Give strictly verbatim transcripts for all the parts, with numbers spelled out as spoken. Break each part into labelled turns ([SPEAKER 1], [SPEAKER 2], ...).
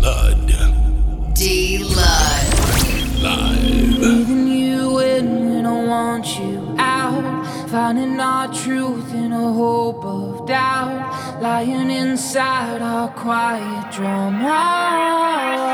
[SPEAKER 1] D-Lud.
[SPEAKER 2] D-Lud.
[SPEAKER 1] Live.
[SPEAKER 3] Breathing you in when I want you out. Finding our truth in a hope of doubt. Lying inside our quiet drama.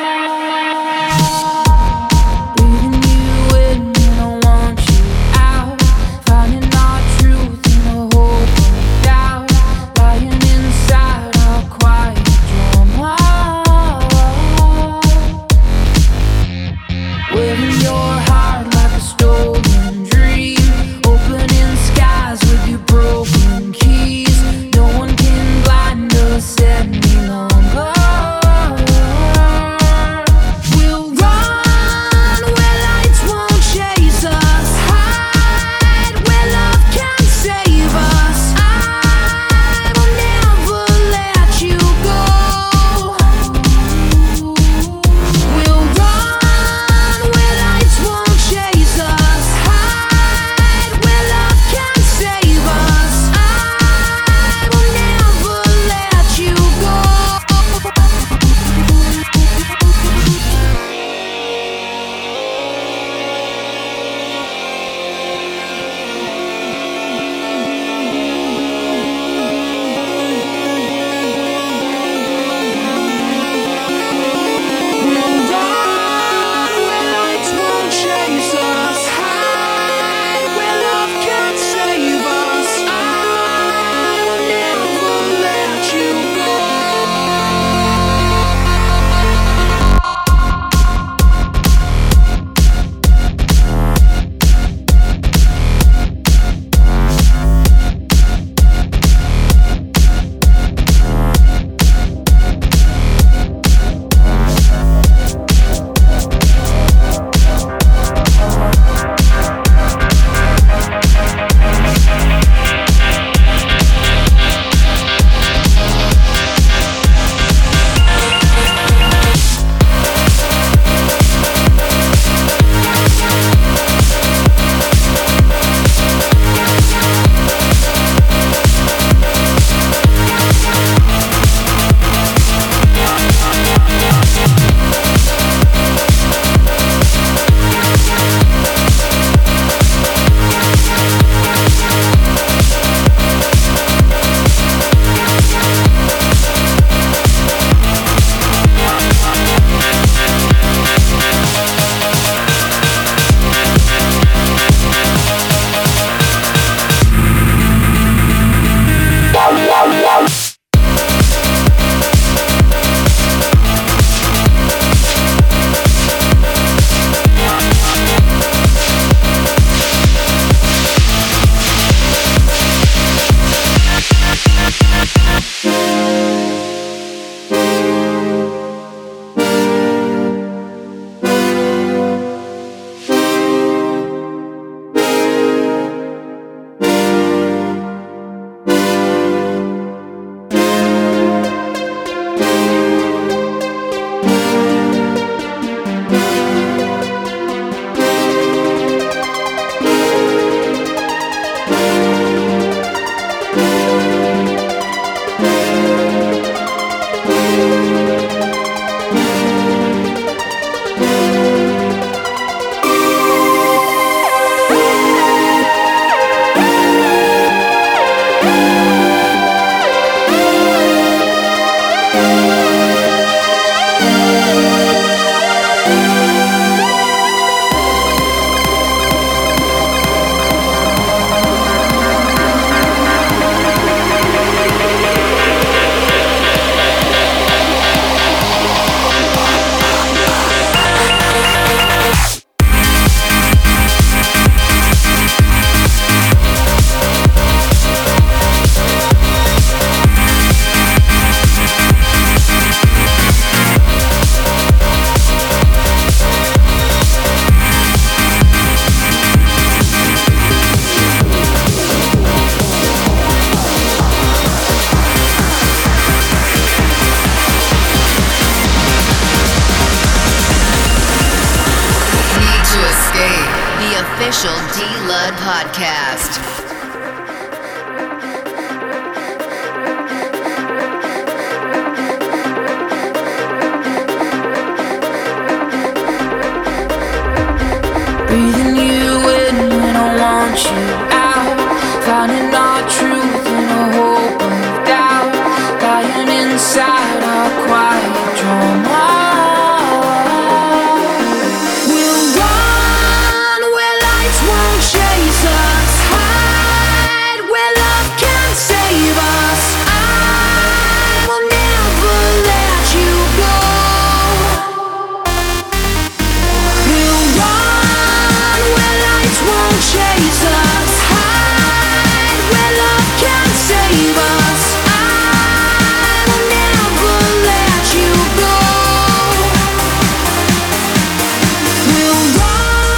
[SPEAKER 2] official D-Lud podcast.
[SPEAKER 3] inside our quiet drama. We'll run where lights won't chase us, hide where love can save us. I will never let you go. We'll run where lights won't chase us, hide where love can save us. I will never let you go. We'll run.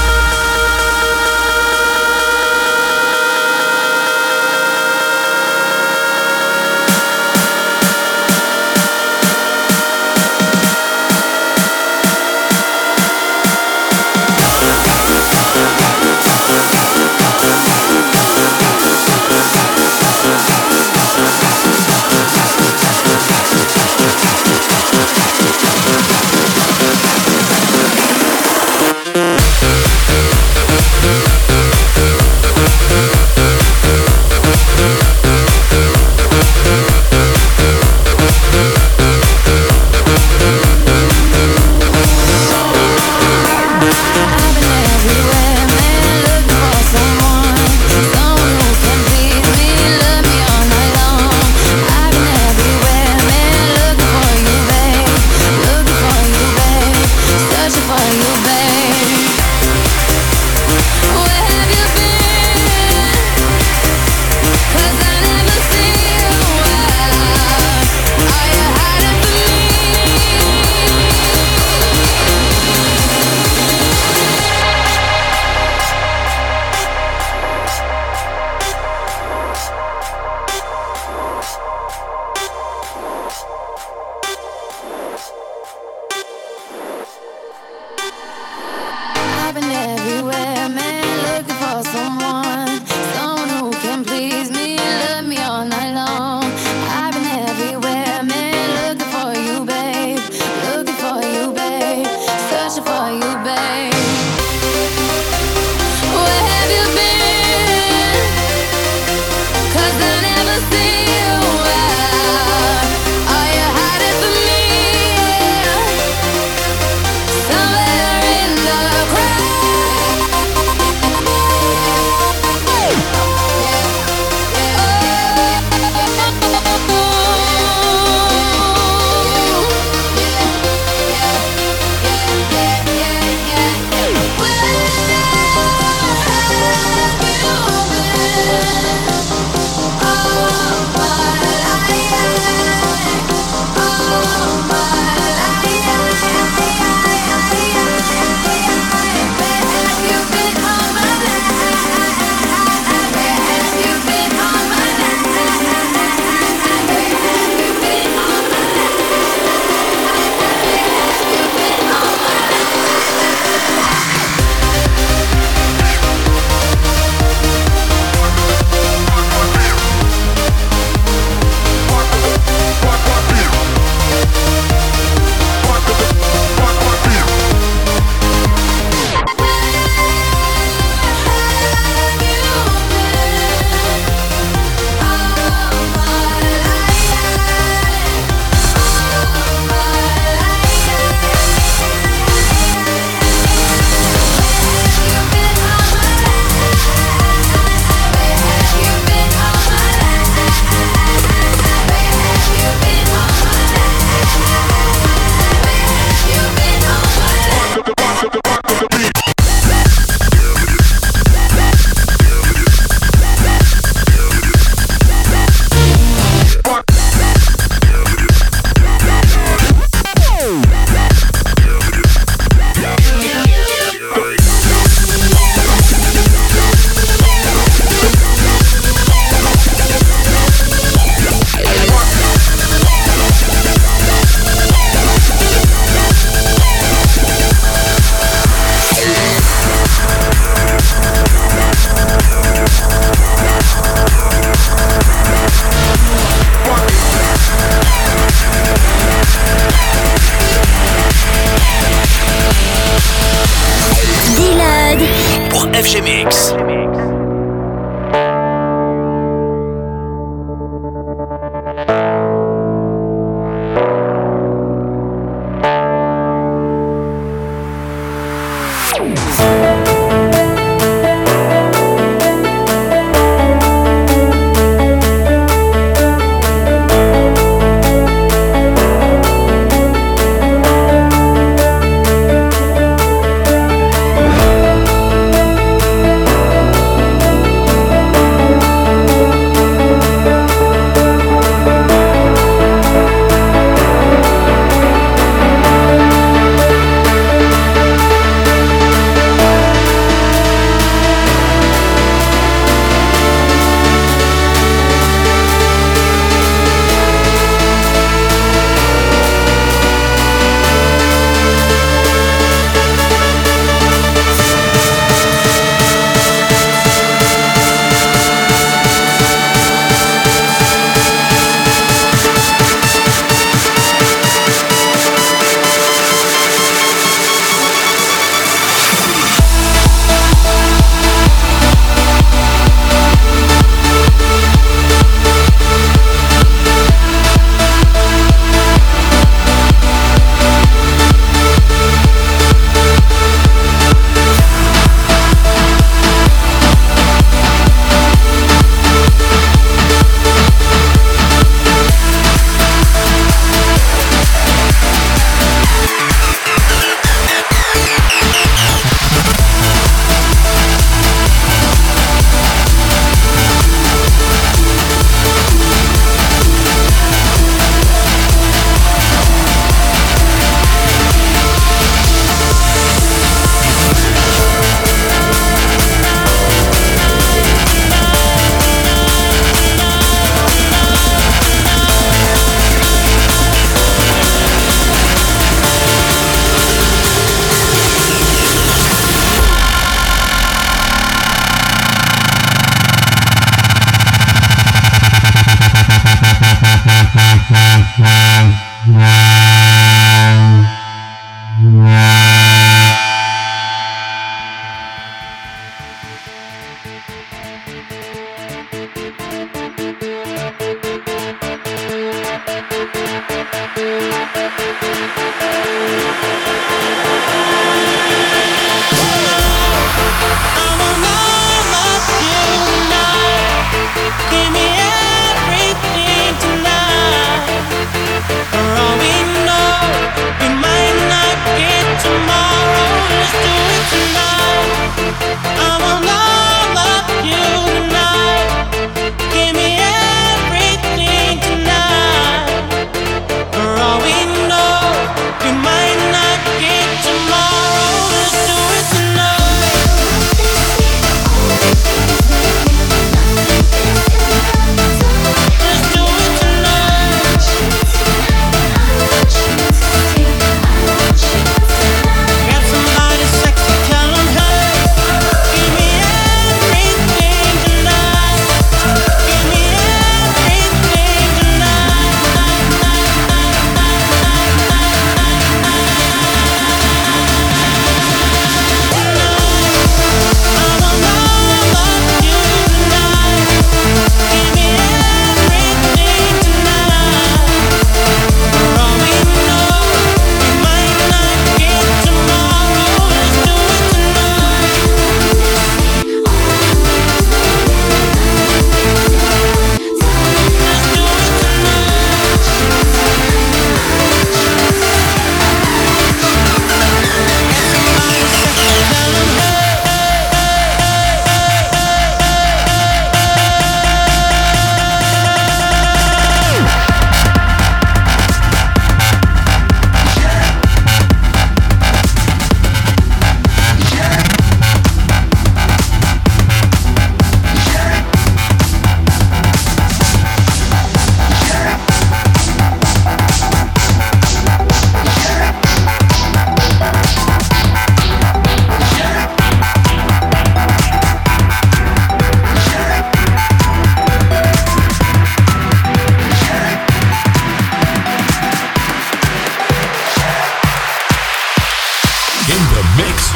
[SPEAKER 1] F G Mix.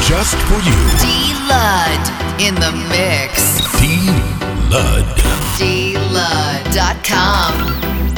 [SPEAKER 1] just for you.
[SPEAKER 2] D-Lud in the mix.
[SPEAKER 1] D-Lud.
[SPEAKER 2] D Lud dot com.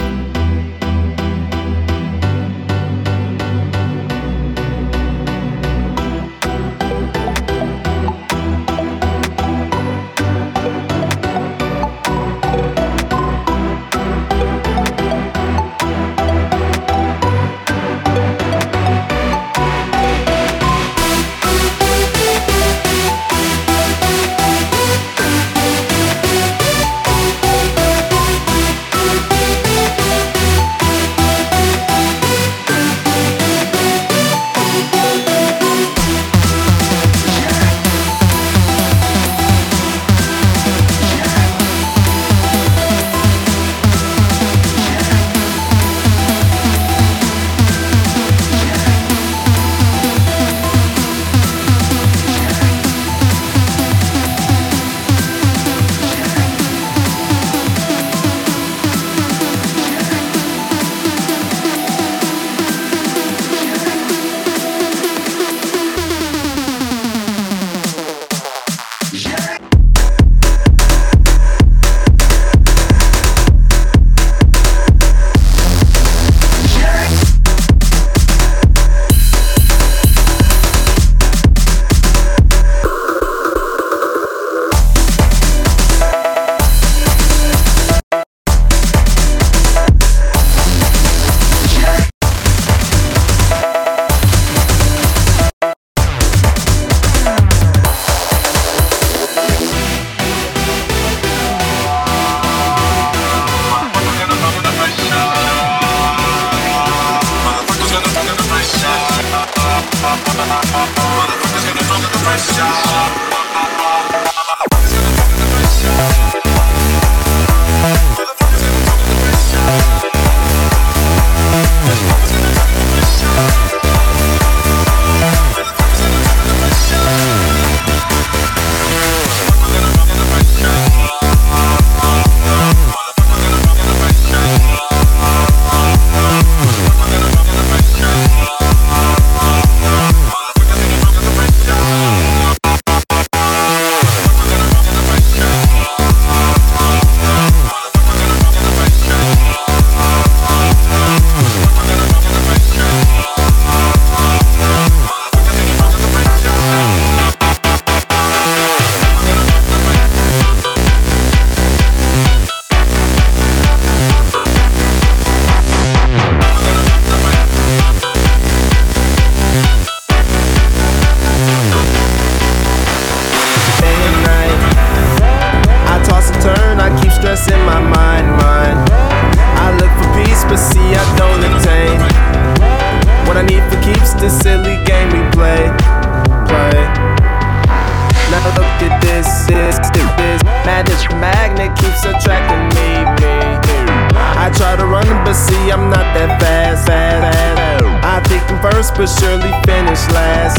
[SPEAKER 4] But surely finish last,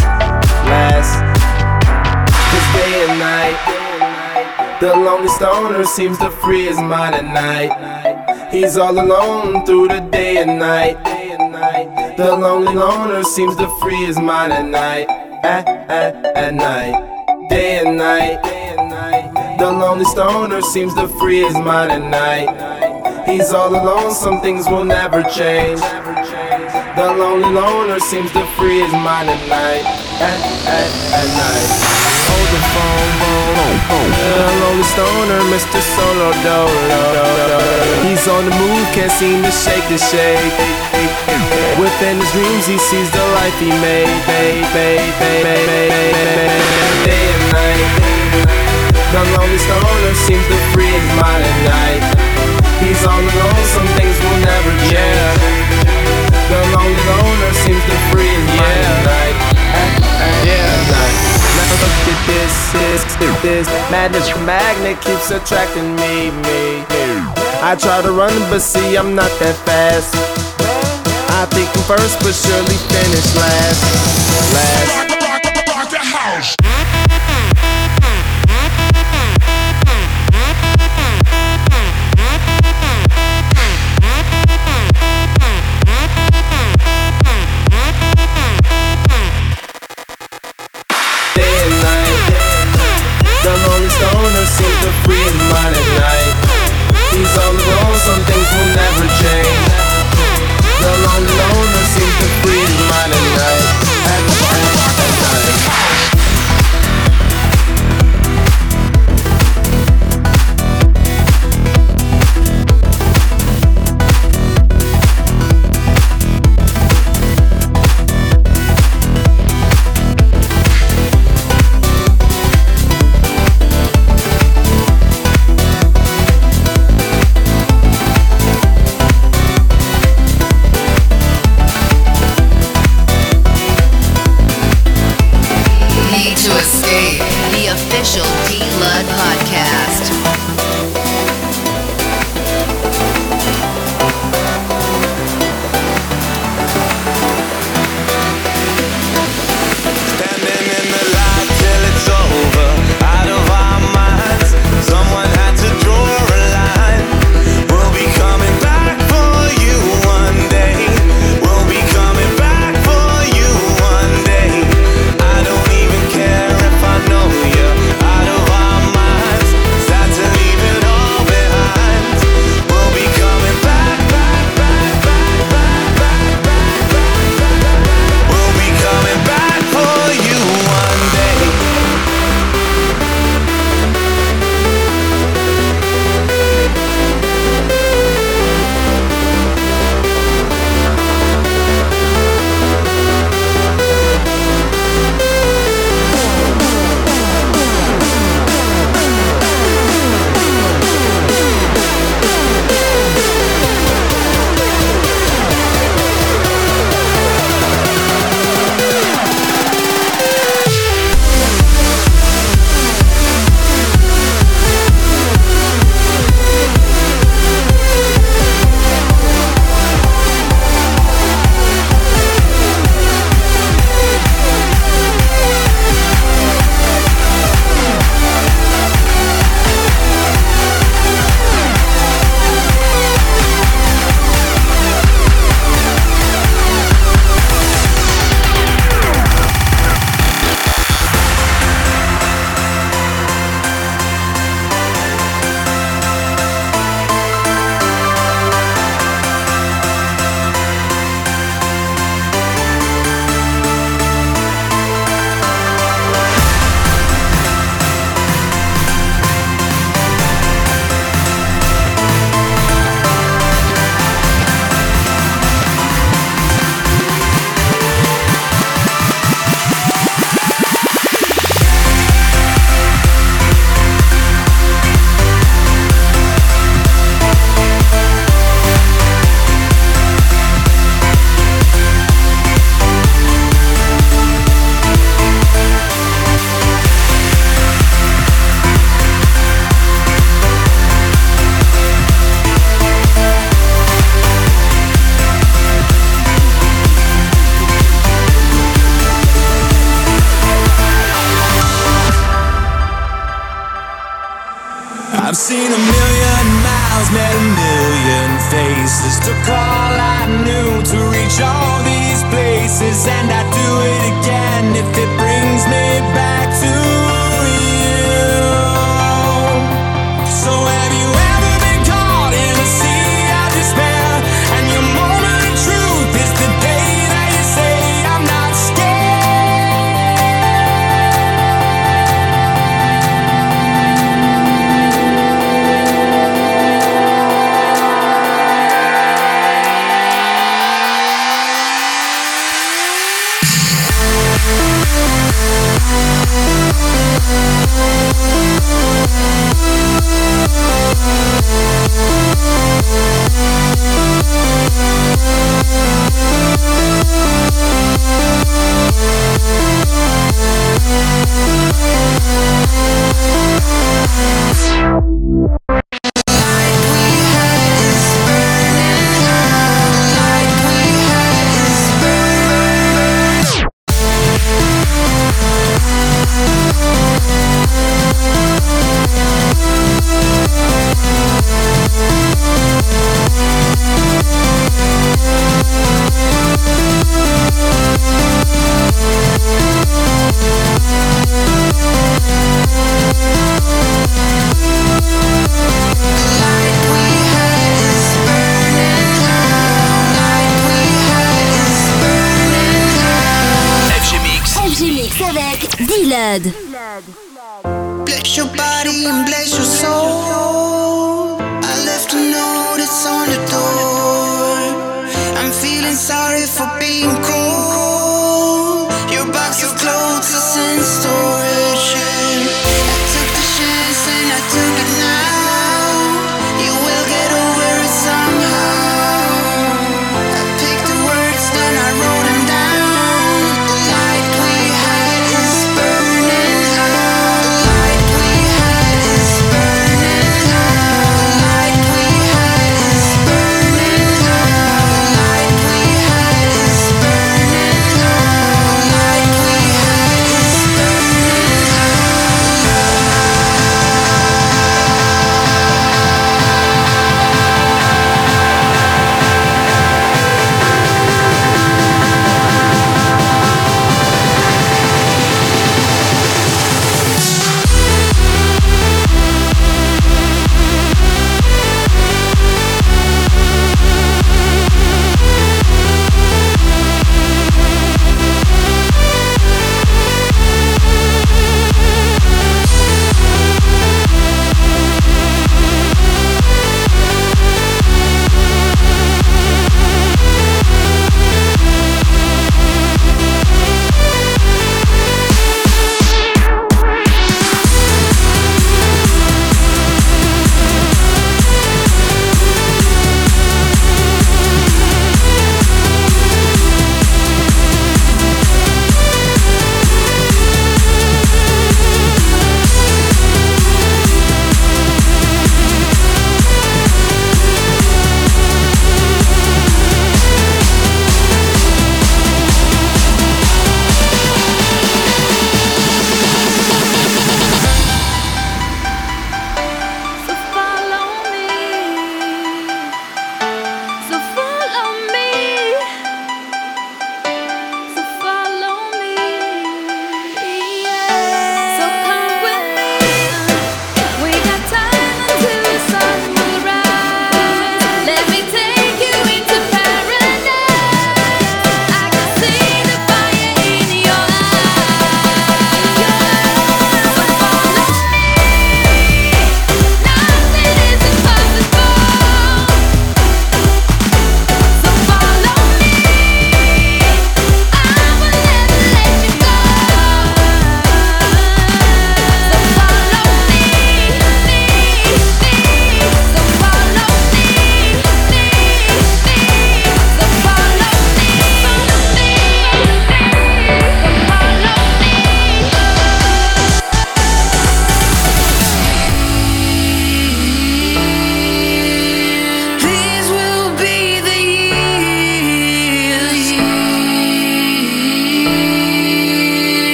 [SPEAKER 4] last. Cause day and night, the lonely stoner seems to free his mind at night. He's all alone through the day and night. The lonely loner seems to free his mind at night, at, at, at night. Day and night, the lonely stoner seems to free his mind at night. He's all alone, some things will never change. The lonely loner seems to free his mind at night, at, at, at night. Hold the phone, phone, phone. The lonely stoner, Mister Solo Dolo. He's on the move, can't seem to shake the shade. Within his dreams, he sees the life he made. Day and night, the lonely stoner seems to free his mind at night. He's all alone, some things will never change. The lonely loner seems to free his mind at night, at, at, yeah. At night. Now look at this, this, this madness magnet keeps attracting me, me, me. I try to run, but see I'm not that fast. I think I'm first, but surely finish last, last.
[SPEAKER 5] Seen a million miles, met a million faces. Took all I knew to reach all these places, and I'd do it again if it brings me back to you. So have you ever been caught in a sea of despair, and your moment of truth is the day that you say I'm not
[SPEAKER 6] D-Lud.
[SPEAKER 7] Bless your body and bless your soul. I left a note, it's on the door. I'm feeling sorry for being cold. Your box of clothes is in storage. I took the chance and I took it now. You will get over it somehow. I picked the words, then I wrote them down. The light we had is burning out. The light we had is burning out. The light we had is burning out. The light we had is burning out.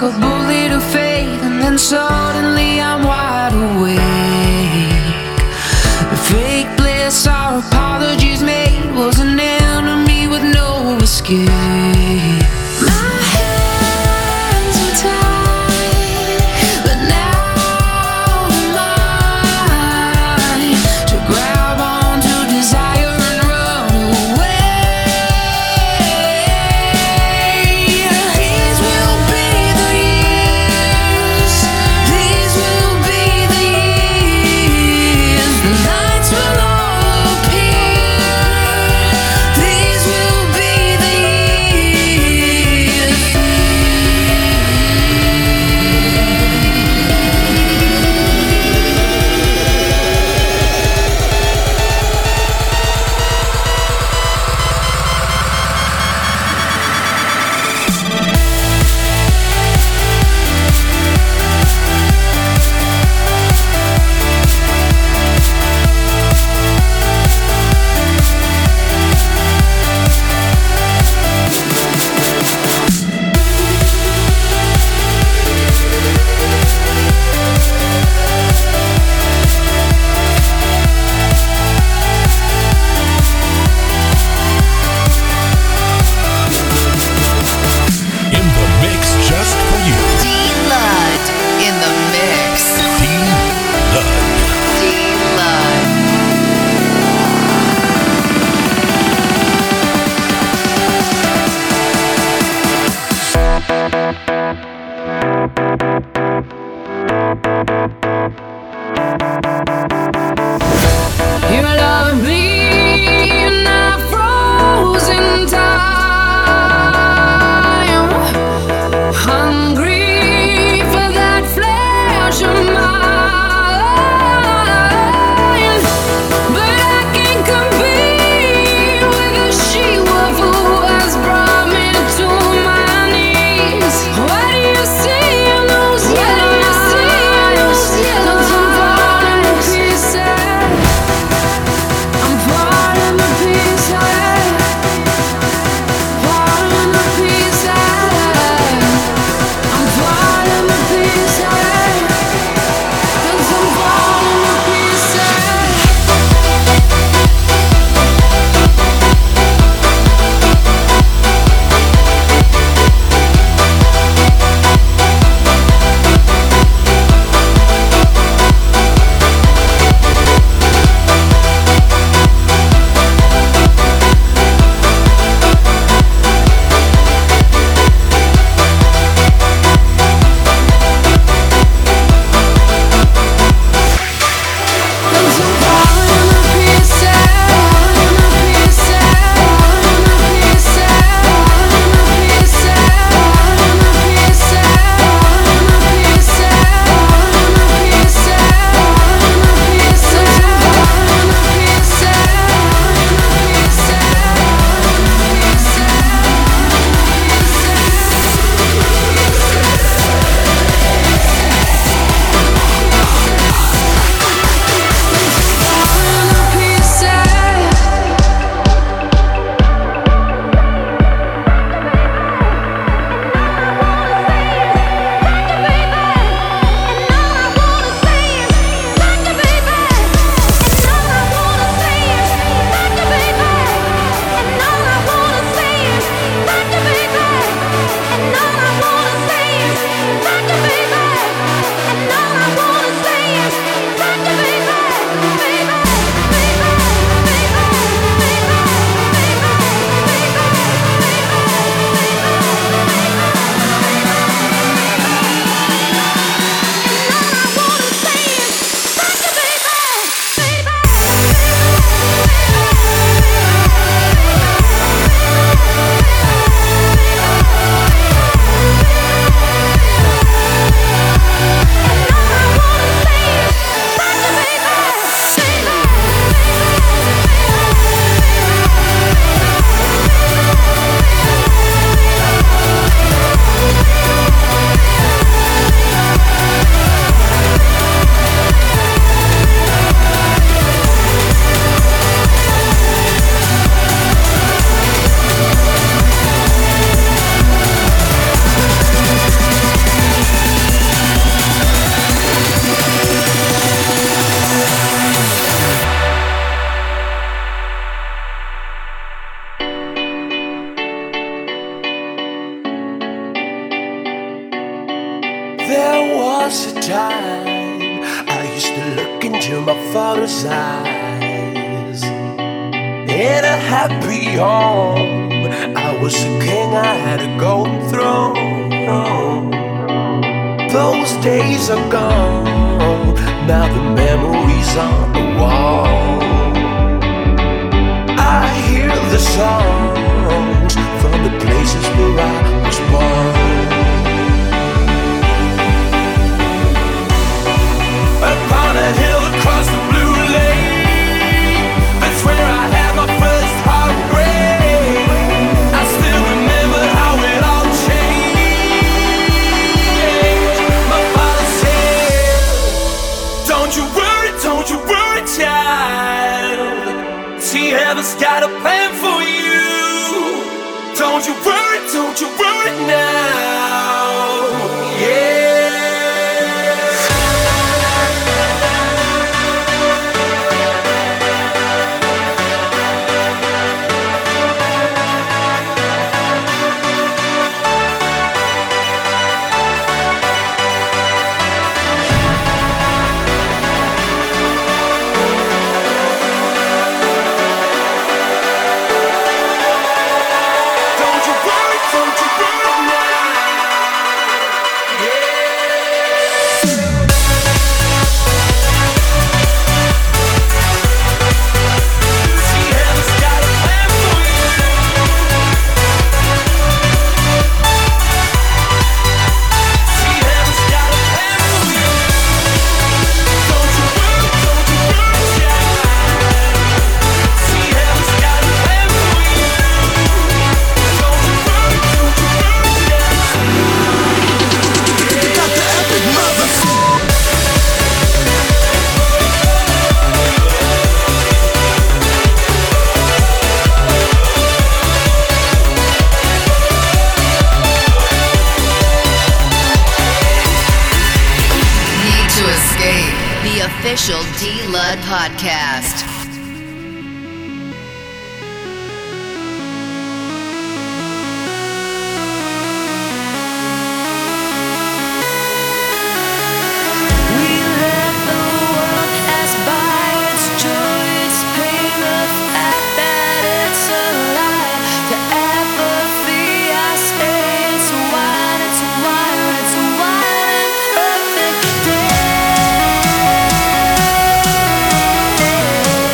[SPEAKER 3] like a bullet of faith, and then suddenly I'm wide awake. Fake bliss, our apologies made, was an enemy with no escape. My hands were tied, but now I'm mine to grab onto desire and run away. These will be the years, these will be the years, the lights will all appear. These will be the years.
[SPEAKER 8] time I used to look into my father's eyes. In a happy home, I was a king, I had a golden throne. Those days are gone, now the memories on the wall. I hear the songs from the places where I was born. Upon a hill across the blue lake, that's where I had my first heartbreak. I still remember how it all changed. My father said, don't you worry, don't you worry, child. See, heaven's got a plan for you. Don't you worry, don't you worry now. Yeah.
[SPEAKER 2] Official D-Lud podcast.
[SPEAKER 3] Yeah.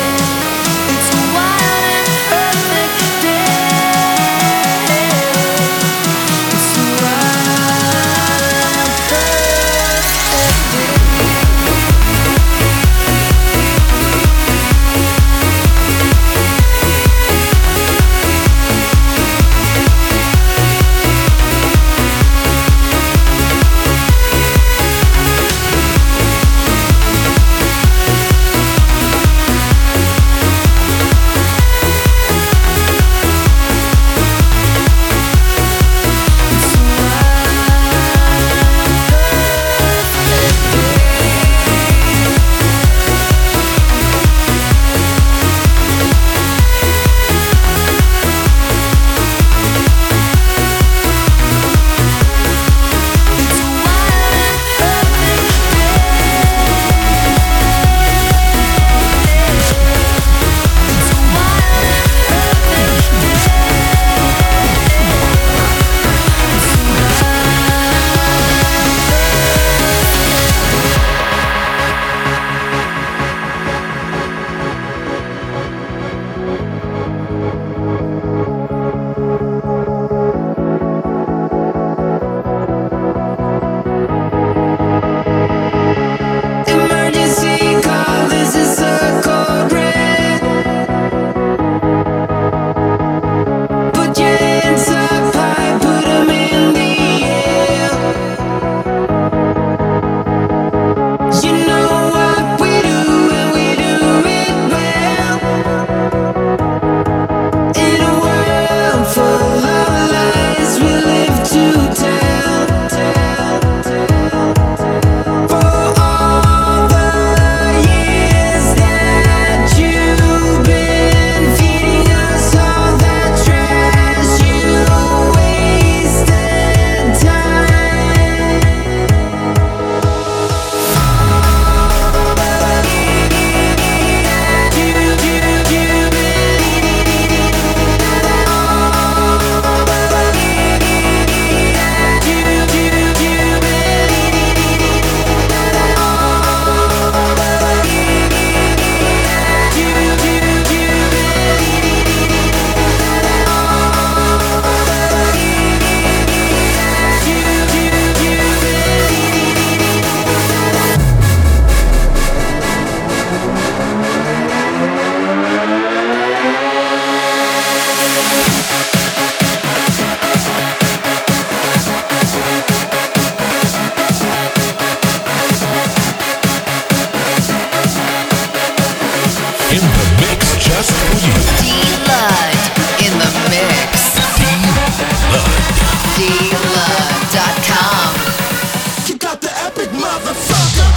[SPEAKER 1] in the mix just for you.
[SPEAKER 2] D-Lud in the mix.
[SPEAKER 1] D-Lud.
[SPEAKER 2] D Lud dot com.
[SPEAKER 8] You got the epic motherfucker.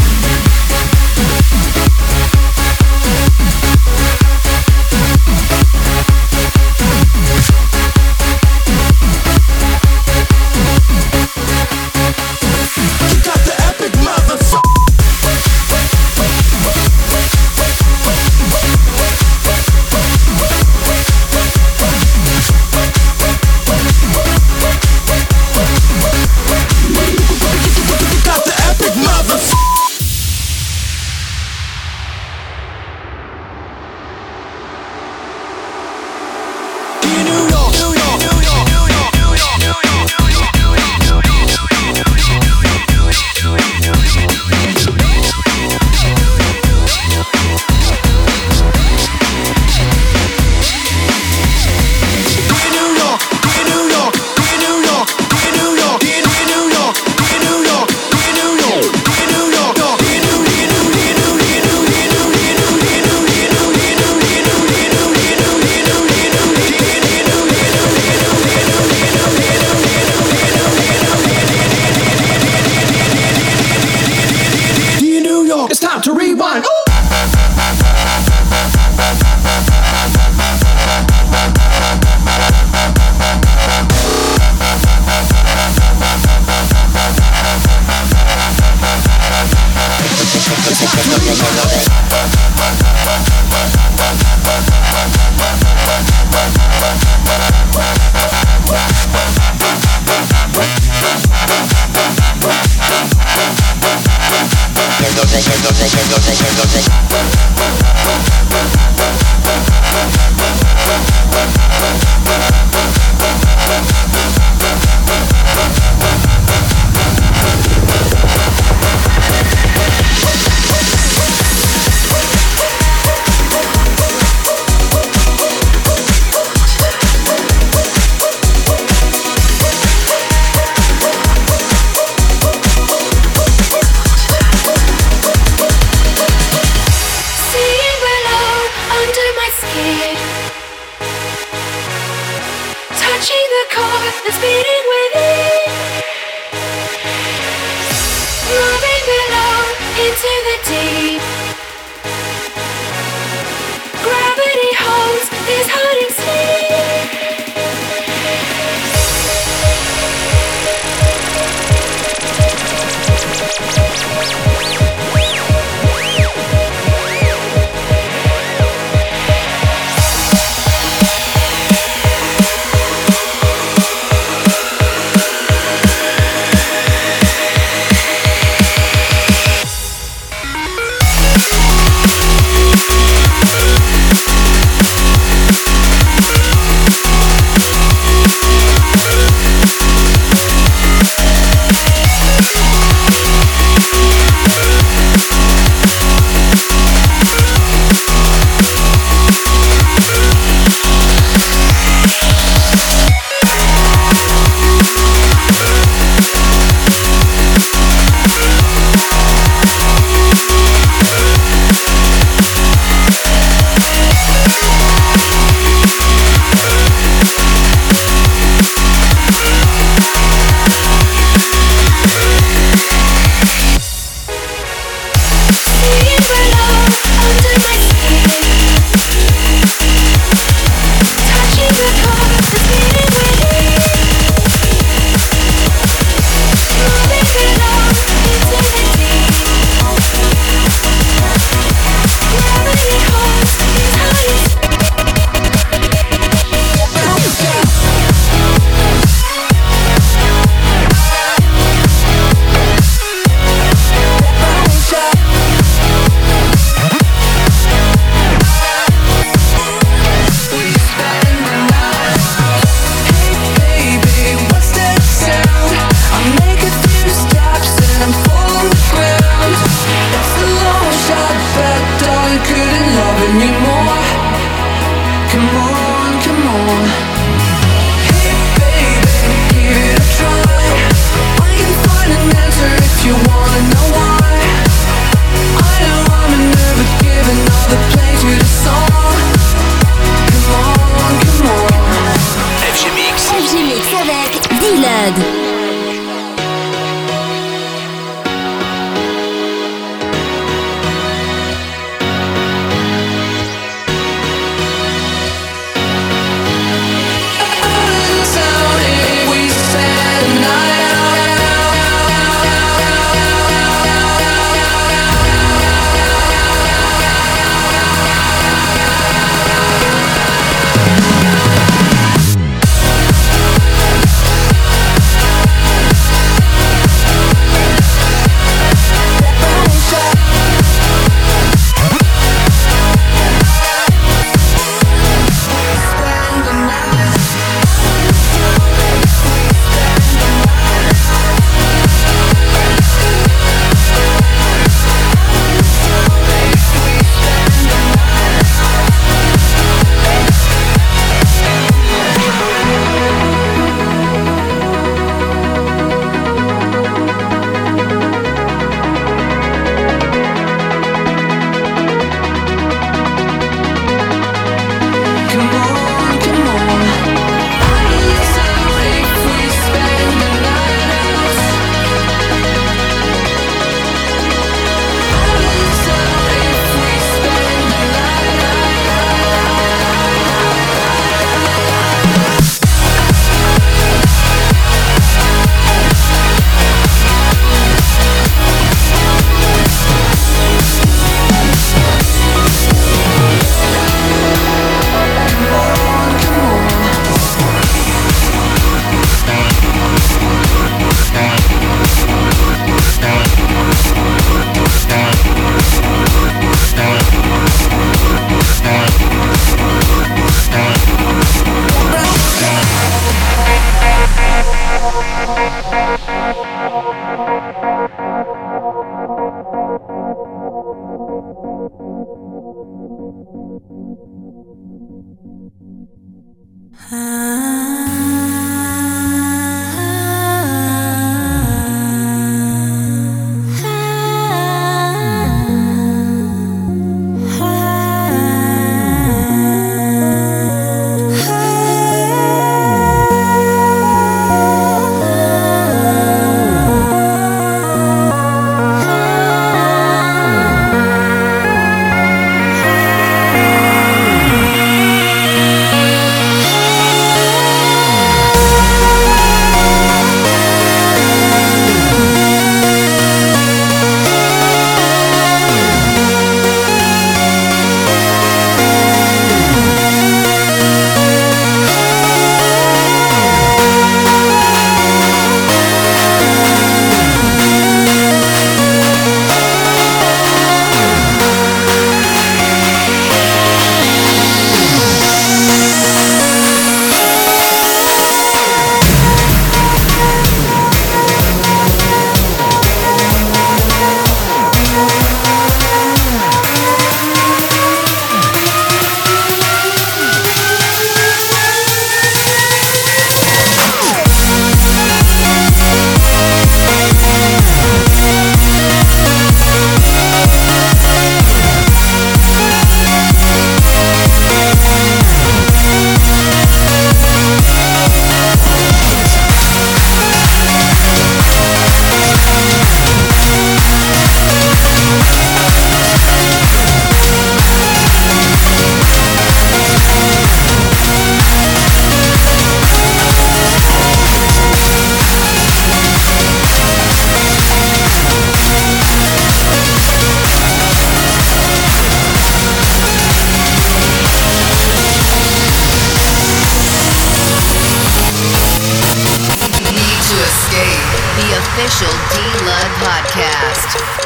[SPEAKER 2] official D-Lud podcast.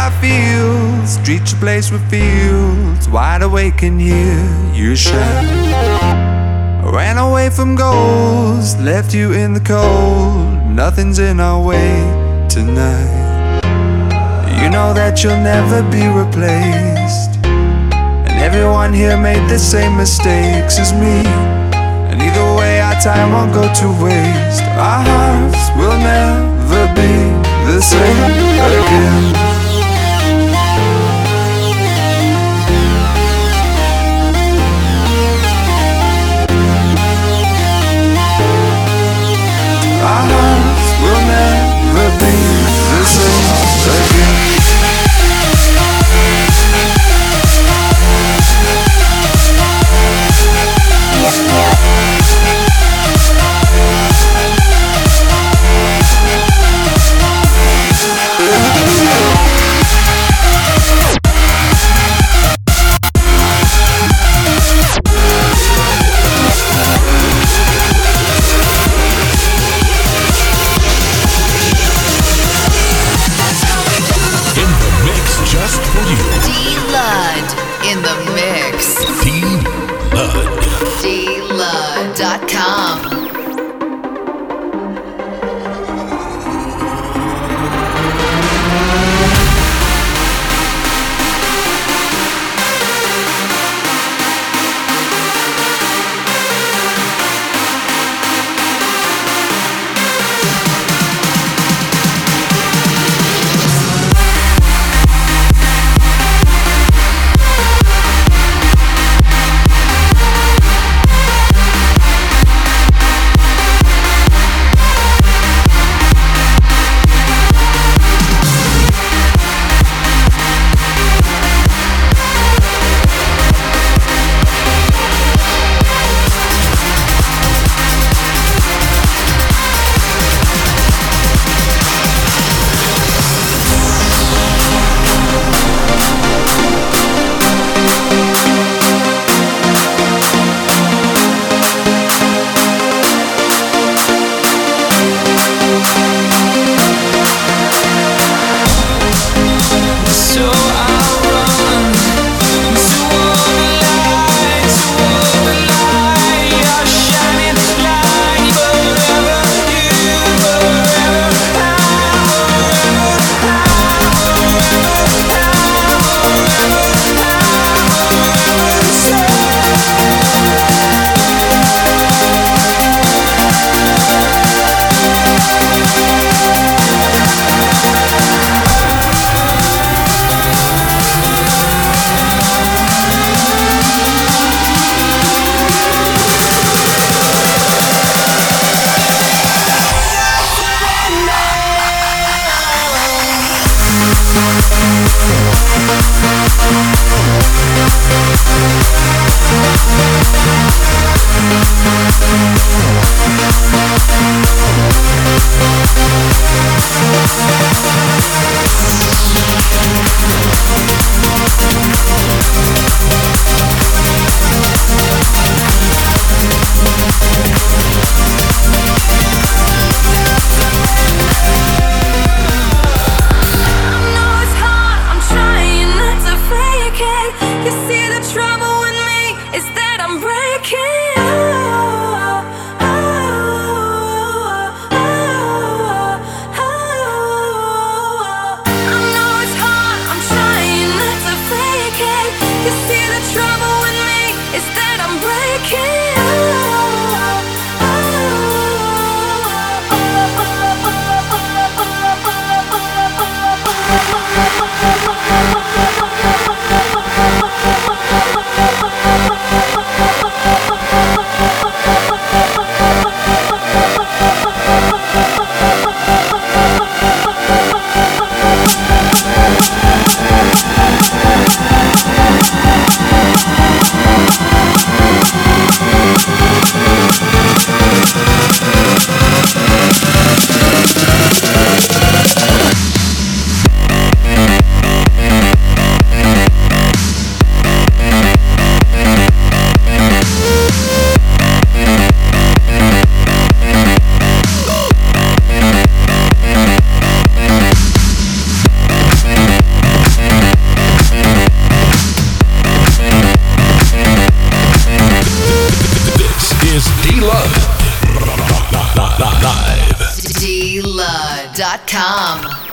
[SPEAKER 5] I feel. Streets replaced with fields, wide awake can hear you shout. I ran away from goals, left you in the cold. Nothing's in our way tonight. You know that you'll never be replaced, and everyone here made the same mistakes as me. And either way our time won't go to waste. Our hearts will never be the same again. Our hearts will never be the same again.
[SPEAKER 1] Just for you.
[SPEAKER 2] D-Lud in the mix.
[SPEAKER 1] D-Lud.
[SPEAKER 2] D Lud dot com. dot com.